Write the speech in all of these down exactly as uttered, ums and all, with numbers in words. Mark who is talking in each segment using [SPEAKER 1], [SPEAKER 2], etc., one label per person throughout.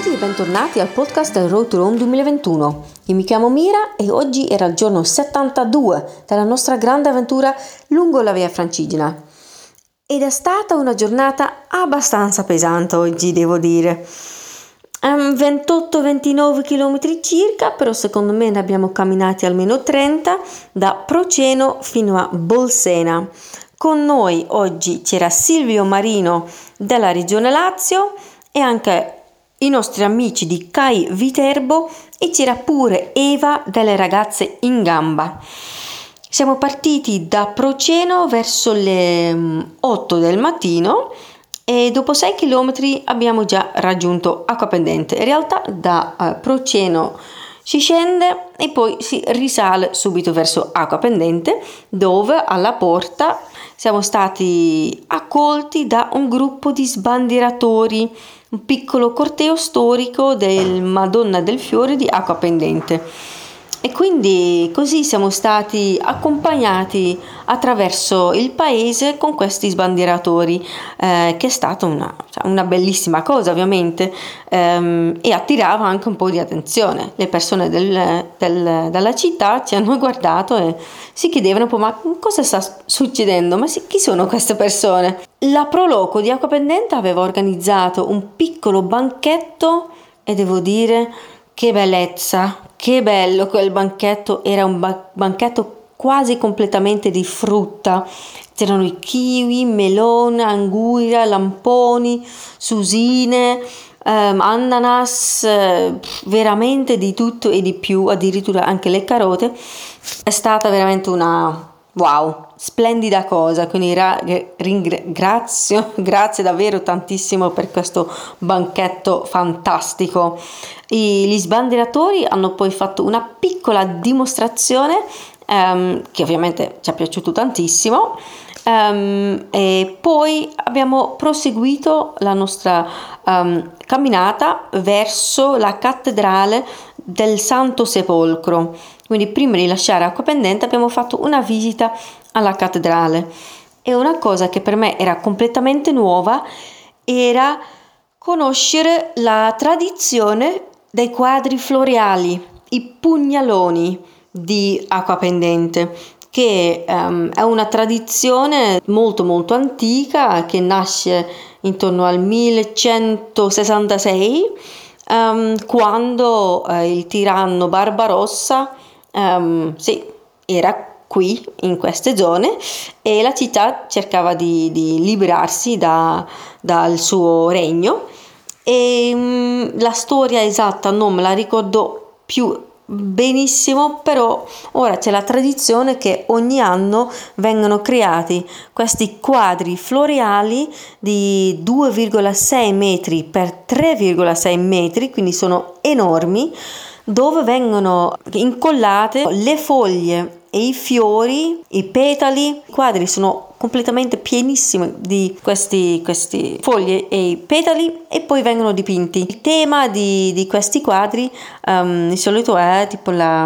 [SPEAKER 1] Benvenuti e bentornati al podcast Road to Rome duemilaventuno. Io mi chiamo Mira e oggi era il giorno settantadue della nostra grande avventura lungo la Via Francigena. Ed è stata una giornata abbastanza pesante oggi, devo dire. Um, ventotto ventinove chilometri circa, però secondo me ne abbiamo camminati almeno trenta da Proceno fino a Bolsena. Con noi oggi c'era Silvio Marino della Regione Lazio e anche i nostri amici di C A I Viterbo e c'era pure Eva delle Ragazze in Gamba. Siamo partiti da Proceno verso le otto del mattino e dopo sei chilometri abbiamo già raggiunto Acquapendente. In realtà da uh, Proceno si scende e poi si risale subito verso Acquapendente, dove alla porta siamo stati accolti da un gruppo di sbandieratori, un piccolo corteo storico del Madonna del Fiore di Acquapendente. E quindi così siamo stati accompagnati attraverso il paese con questi sbandieratori, eh, che è stata una, una bellissima cosa ovviamente, ehm, e attirava anche un po' di attenzione. Le persone del, del, della città ci hanno guardato e si chiedevano un po' ma cosa sta succedendo? Ma chi sono queste persone? La Proloco di Acquapendente aveva organizzato un piccolo banchetto e devo dire che bellezza, che bello quel banchetto, era un ba- banchetto quasi completamente di frutta, c'erano i kiwi, melone, anguria, lamponi, susine, ehm, ananas, eh, veramente di tutto e di più, addirittura anche le carote. È stata veramente una wow, splendida cosa, quindi ra- ringrazio, grazie davvero tantissimo per questo banchetto fantastico. I, gli sbandieratori hanno poi fatto una piccola dimostrazione um, che ovviamente ci è piaciuto tantissimo, um, e poi abbiamo proseguito la nostra um, camminata verso la cattedrale del Santo Sepolcro. Quindi prima di lasciare Acquapendente abbiamo fatto una visita alla cattedrale e una cosa che per me era completamente nuova era conoscere la tradizione dei quadri floreali, i pugnaloni di Acquapendente, che um, è una tradizione molto molto antica che nasce intorno al millecentosessantasei, um, quando uh, il tiranno Barbarossa um, sì, era qui in queste zone e la città cercava di, di liberarsi da, dal suo regno. E um, la storia esatta non me la ricordo più benissimo, però ora c'è la tradizione che ogni anno vengono creati questi quadri floreali di due virgola sei metri per tre virgola sei metri, quindi sono enormi, dove vengono incollate le foglie e i fiori, i petali. I quadri sono completamente pienissimi di questi, questi foglie e i petali e poi vengono dipinti. Il tema di, di questi quadri um, di solito è tipo la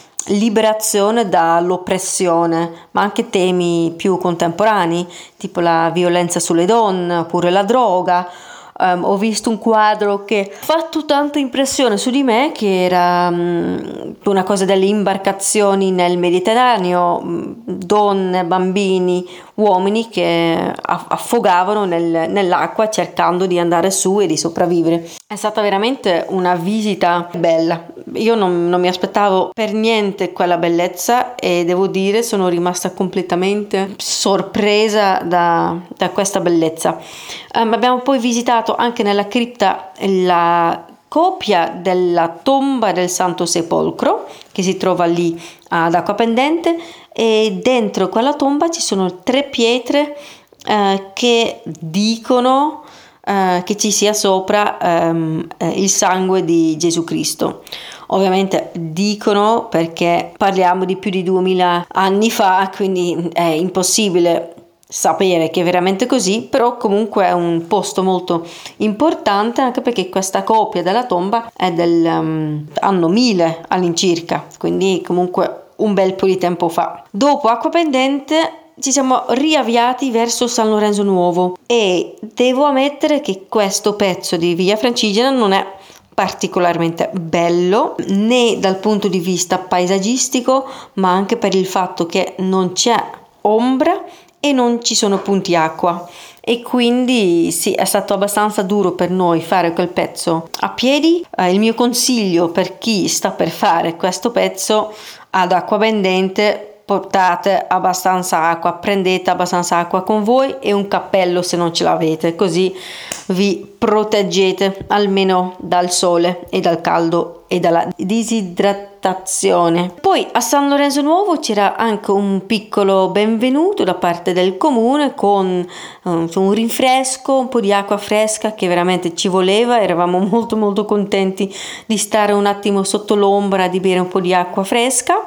[SPEAKER 1] liberazione dall'oppressione, ma anche temi più contemporanei, tipo la violenza sulle donne oppure la droga. Um, ho visto un quadro che ha fatto tanta impressione su di me, che era um, una cosa delle imbarcazioni nel Mediterraneo, um, donne, bambini, uomini che affogavano nel, nell'acqua cercando di andare su e di sopravvivere. È stata veramente una visita bella. Io non, non mi aspettavo per niente quella bellezza e devo dire sono rimasta completamente sorpresa da, da questa bellezza. Um, abbiamo poi visitato anche nella cripta la copia della tomba del Santo Sepolcro che si trova lì ad Acquapendente, e dentro quella tomba ci sono tre pietre eh, che dicono eh, che ci sia sopra ehm, eh, il sangue di Gesù Cristo. Ovviamente dicono perché parliamo di più di duemila anni fa, quindi è impossibile sapere che è veramente così, però comunque è un posto molto importante, anche perché questa copia della tomba è del um, anno mille all'incirca, quindi comunque un bel po' di tempo fa. Dopo Acquapendente ci siamo riavviati verso San Lorenzo Nuovo e devo ammettere che questo pezzo di Via Francigena non è particolarmente bello, né dal punto di vista paesaggistico, ma anche per il fatto che non c'è ombra e non ci sono punti acqua. E quindi sì, è stato abbastanza duro per noi fare quel pezzo a piedi. Eh, il mio consiglio per chi sta per fare questo pezzo: ad Acquapendente portate abbastanza acqua, prendete abbastanza acqua con voi e un cappello se non ce l'avete, così vi proteggete almeno dal sole e dal caldo e dalla disidratazione. Poi a San Lorenzo Nuovo c'era anche un piccolo benvenuto da parte del comune con um, un rinfresco, un po' di acqua fresca che veramente ci voleva. Eravamo molto molto contenti di stare un attimo sotto l'ombra, di bere un po' di acqua fresca.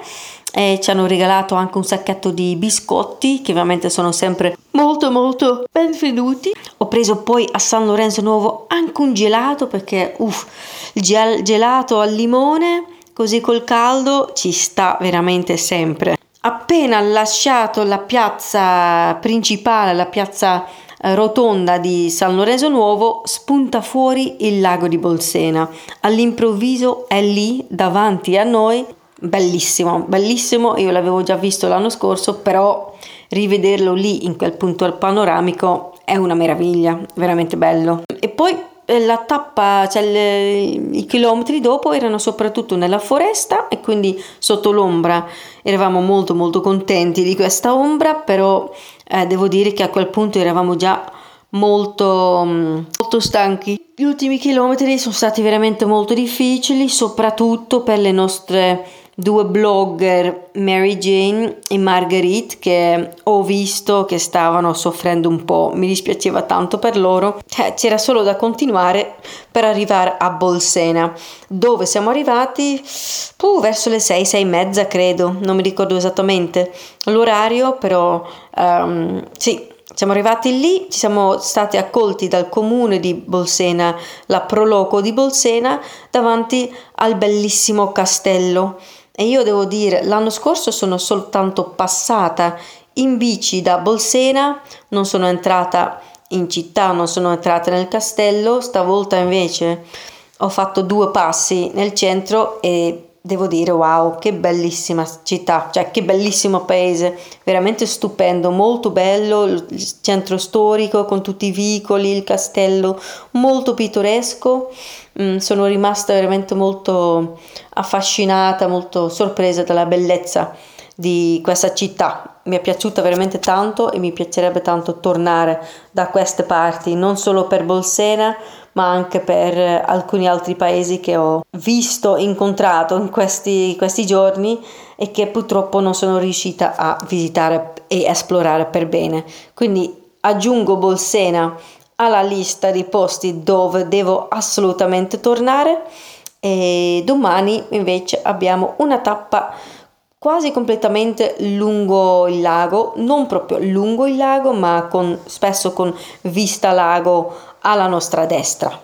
[SPEAKER 1] E ci hanno regalato anche un sacchetto di biscotti che ovviamente sono sempre molto molto benvenuti. Ho preso poi a San Lorenzo Nuovo anche un gelato perché uff, il gel- gelato al limone così col caldo ci sta veramente sempre. Appena lasciato la piazza principale, la piazza eh, rotonda di San Lorenzo Nuovo, spunta fuori il lago di Bolsena. All'improvviso è lì davanti a noi. Bellissimo, bellissimo, io l'avevo già visto l'anno scorso, però rivederlo lì in quel punto panoramico è una meraviglia, veramente bello. E poi la tappa, cioè le, i chilometri dopo erano soprattutto nella foresta e quindi sotto l'ombra eravamo molto molto contenti di questa ombra, però eh, devo dire che a quel punto eravamo già molto molto stanchi. Gli ultimi chilometri sono stati veramente molto difficili, soprattutto per le nostre due blogger, Mary Jane e Marguerite, che ho visto che stavano soffrendo un po'. Mi dispiaceva tanto per loro. Eh, c'era solo da continuare per arrivare a Bolsena, dove siamo arrivati uh, verso le sei, sei e mezza credo, non mi ricordo esattamente l'orario, però um, sì, siamo arrivati lì, ci siamo stati accolti dal comune di Bolsena, la Proloco di Bolsena, davanti al bellissimo castello. E io devo dire, l'anno scorso sono soltanto passata in bici da Bolsena, non sono entrata in città, non sono entrata nel castello. Stavolta invece ho fatto due passi nel centro e devo dire wow, che bellissima città, cioè che bellissimo paese, veramente stupendo, molto bello, il centro storico con tutti i vicoli, il castello molto pittoresco. Mm, sono rimasta veramente molto affascinata, molto sorpresa dalla bellezza di questa città. Mi è piaciuta veramente tanto e mi piacerebbe tanto tornare da queste parti, non solo per Bolsena ma anche per alcuni altri paesi che ho visto, incontrato in questi, questi giorni e che purtroppo non sono riuscita a visitare e esplorare per bene. Quindi aggiungo Bolsena alla lista di posti dove devo assolutamente tornare. E domani invece abbiamo una tappa quasi completamente lungo il lago, non proprio lungo il lago, ma con, spesso con vista lago alla nostra destra.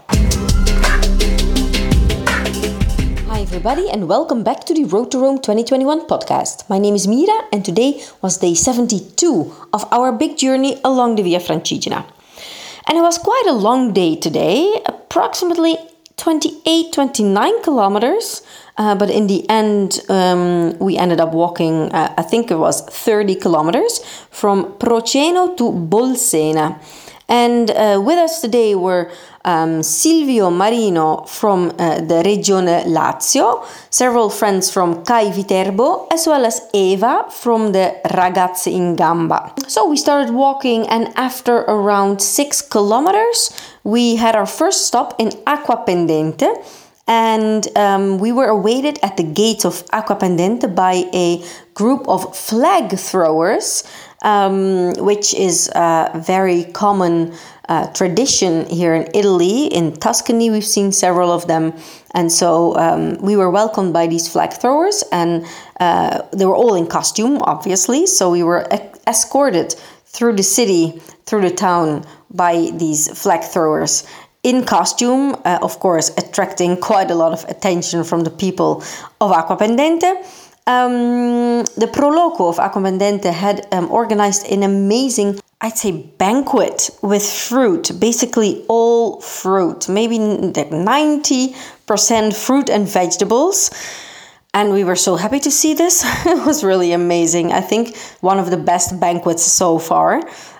[SPEAKER 1] Hi everybody and welcome back to the Road to Rome twenty twenty-one podcast. My name is Mira and today was day seventy-two of our big journey along the Via Francigena. And it was quite a long day today, approximately twenty-eight, twenty-nine kilometers. Uh, but in the end, um, we ended up walking, uh, I think it was thirty kilometers from Proceno to Bolsena. And uh, with us today were um, Silvio Marino from uh, the Regione Lazio, several friends from Cai Viterbo, as well as Eva from the Ragazzi in Gamba. So we started walking, and after around six kilometers, we had our first stop in Acquapendente. And um, we were awaited at the gates of Acquapendente by a group of flag throwers, um, which is a very common uh, tradition here in Italy. In Tuscany, we've seen several of them. And so um, we were welcomed by these flag throwers, and uh, they were all in costume, obviously. So we were e- escorted through the city, through the town, by these flag throwers. In costume, uh, of course, attracting quite a lot of attention from the people of Acquapendente. Um, the Proloco of Acquapendente had um, organized an amazing, I'd say, banquet with fruit, basically all fruit, maybe ninety percent fruit and vegetables. And we were so happy to see this. It was really amazing. I think one of the best banquets so far.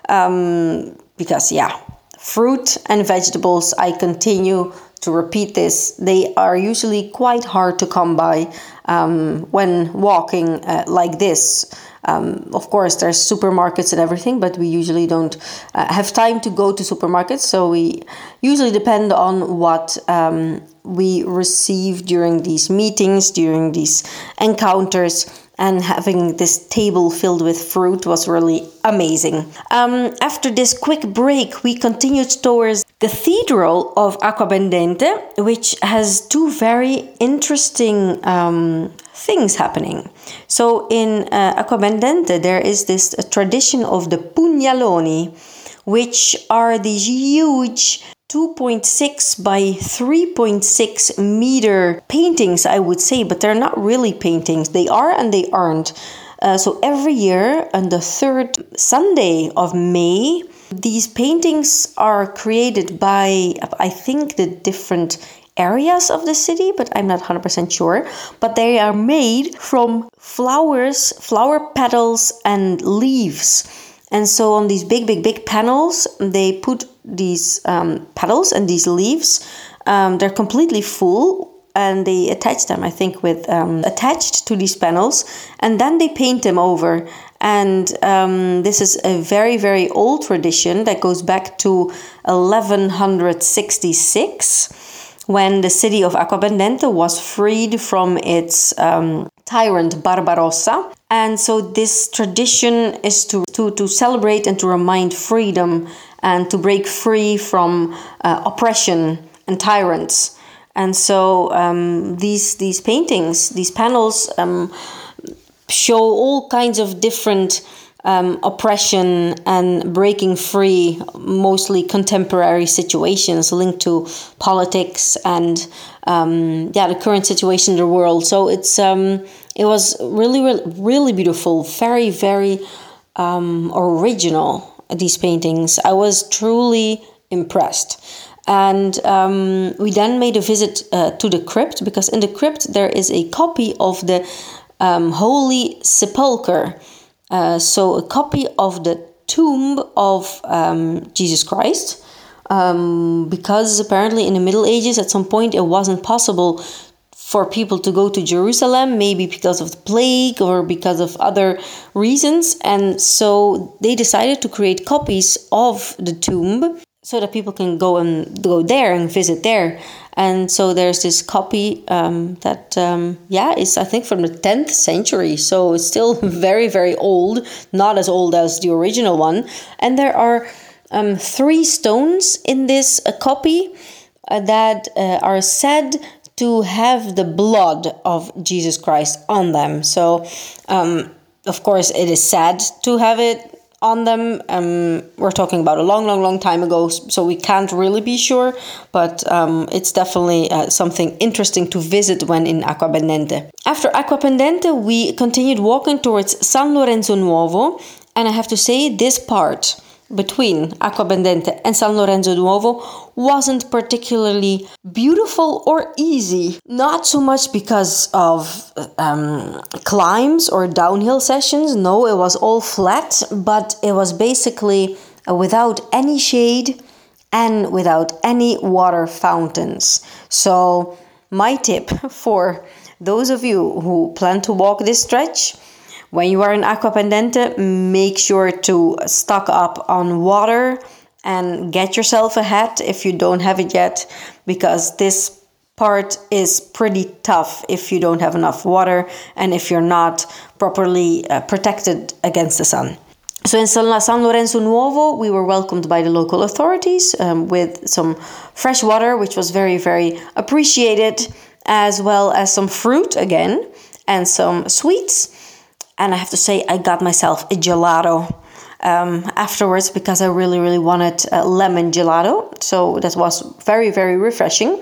[SPEAKER 1] Um, because, yeah, fruit and vegetables, I continue to repeat this. They are usually quite hard to come by um, when walking uh, like this. Um, of course, there's supermarkets and everything, but we usually don't uh, have time to go to supermarkets. So we usually depend on what um, we receive during these meetings, during these encounters. And having this table filled with fruit was really amazing. Um, after this quick break, we continued towards Cathedral of Acquapendente, which has two very interesting um, things happening. So in uh, Acquapendente, there is this uh, tradition of the pugnaloni, which are these huge two point six by three point six meter paintings, I would say, but they're not really paintings. They are and they aren't. Uh, so every year on the third Sunday of May, these paintings are created by, I think, the different areas of the city, but I'm not one hundred percent sure. But they are made from flowers, flower petals and leaves. And so on these big, big, big panels, they put these um, petals and these leaves. Um, they're completely full and they attach them, I think, with um, attached to these panels. And then they paint them over. And um, this is a very, very old tradition that goes back to eleven sixty-six, when the city of Acquapendente was freed from its um, tyrant Barbarossa. And so this tradition is to, to, to celebrate and to remind freedom and to break free from uh, oppression and tyrants. And so um, these these paintings, these panels um, show all kinds of different Um, oppression and breaking free, mostly contemporary situations linked to politics and um, yeah, the current situation in the world. So it's um, it was really, really, really beautiful, very, very um, original. These paintings, I was truly impressed. And um, we then made a visit uh, to the crypt, because in the crypt there is a copy of the um, Holy Sepulchre. Uh, so a copy of the tomb of um, Jesus Christ, um, because apparently in the Middle Ages at some point it wasn't possible for people to go to Jerusalem, maybe because of the plague or because of other reasons. And so they decided to create copies of the tomb so that people can go and go there and visit there. And so there's this copy um, that, um, yeah, is I think from the tenth century. So it's still very, very old, not as old as the original one. And there are um, three stones in this uh, copy uh, that uh, are said to have the blood of Jesus Christ on them. So, um, of course, it is sad to have it on them. Um, we're talking about a long, long, long time ago, so we can't really be sure, but um, it's definitely uh, something interesting to visit when in Acquapendente. After Acquapendente, we continued walking towards San Lorenzo Nuovo, and I have to say this part between Acquapendente and San Lorenzo Nuovo wasn't particularly beautiful or easy. Not so much because of um, climbs or downhill sessions. No, it was all flat, but it was basically uh, without any shade and without any water fountains. So my tip for those of you who plan to walk this stretch: when you are in Acquapendente, make sure to stock up on water and get yourself a hat if you don't have it yet, because this part is pretty tough if you don't have enough water and if you're not properly uh, protected against the sun. So in San Lorenzo Nuovo, we were welcomed by the local authorities um, with some fresh water, which was very, very appreciated, as well as some fruit again and some sweets. And I have to say, I got myself a gelato um, afterwards, because I really, really wanted a lemon gelato. So that was very, very refreshing.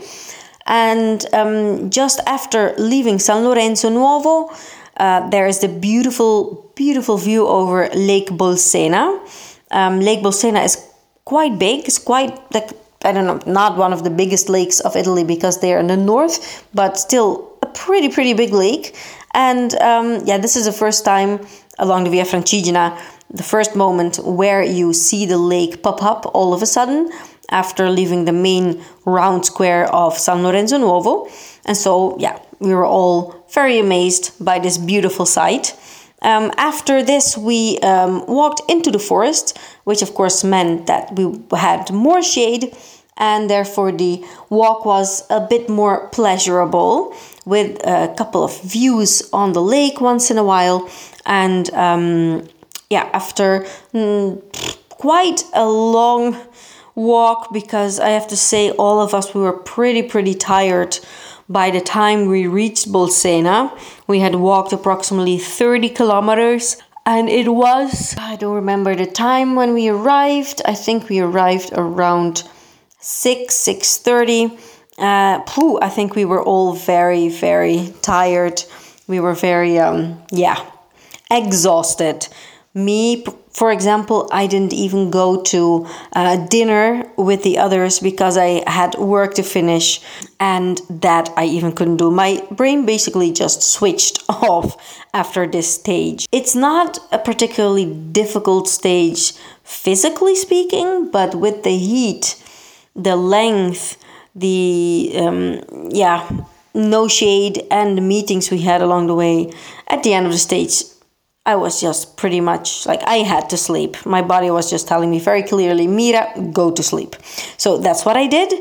[SPEAKER 1] And um, just after leaving San Lorenzo Nuovo, uh, there is the beautiful, beautiful view over Lake Bolsena. Um, Lake Bolsena is quite big. It's quite like I don't know, not one of the biggest lakes of Italy because they're in the north, but still a pretty, pretty big lake. And um, yeah, this is the first time along the Via Francigena, the first moment where you see the lake pop up all of a sudden after leaving the main round square of San Lorenzo Nuovo. And so, yeah, we were all very amazed by this beautiful sight. Um, after this, we um, walked into the forest, which of course meant that we had more shade, and therefore the walk was a bit more pleasurable, with a couple of views on the lake once in a while. And um, yeah, after mm, quite a long walk, because I have to say all of us, we were pretty, pretty tired. By the time we reached Bolsena, we had walked approximately thirty kilometers, and it was, I don't remember the time when we arrived. I think we arrived around six, six thirty. Uh, phew, I think we were all very, very tired. We were very, um, yeah, exhausted. Me, for example, I didn't even go to uh, dinner with the others because I had work to finish, and that I even couldn't do. My brain basically just switched off after this stage. It's not a particularly difficult stage physically speaking, but with the heat, the length, the, um, yeah, no shade, and the meetings we had along the way, at the end of the stage, I was just pretty much like, I had to sleep. My body was just telling me very clearly, Mira, go to sleep. So that's what I did.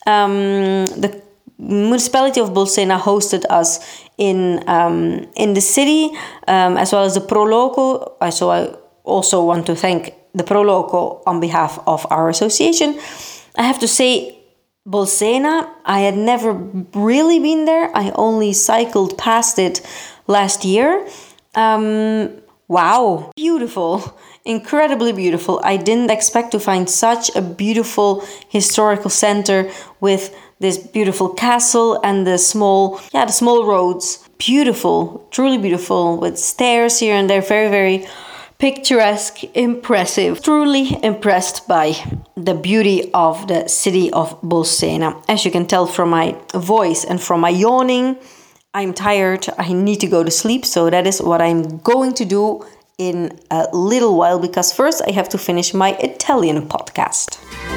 [SPEAKER 1] Um, the municipality of Bolsena hosted us in um, in the city, um, as well as the Pro Loco. So I also want to thank the Pro Loco on behalf of our association. I have to say, Bolsena, I had never really been there. I only cycled past it last year. Um, wow, beautiful, incredibly beautiful. I didn't expect to find such a beautiful historical center with this beautiful castle and the small, yeah, the small roads. Beautiful, truly beautiful, with stairs here and there. Very, very picturesque, impressive. Truly impressed by the beauty of the city of Bolsena. As you can tell from my voice and from my yawning, I'm tired, I need to go to sleep, so that is what I'm going to do in a little while, because first I have to finish my Italian podcast.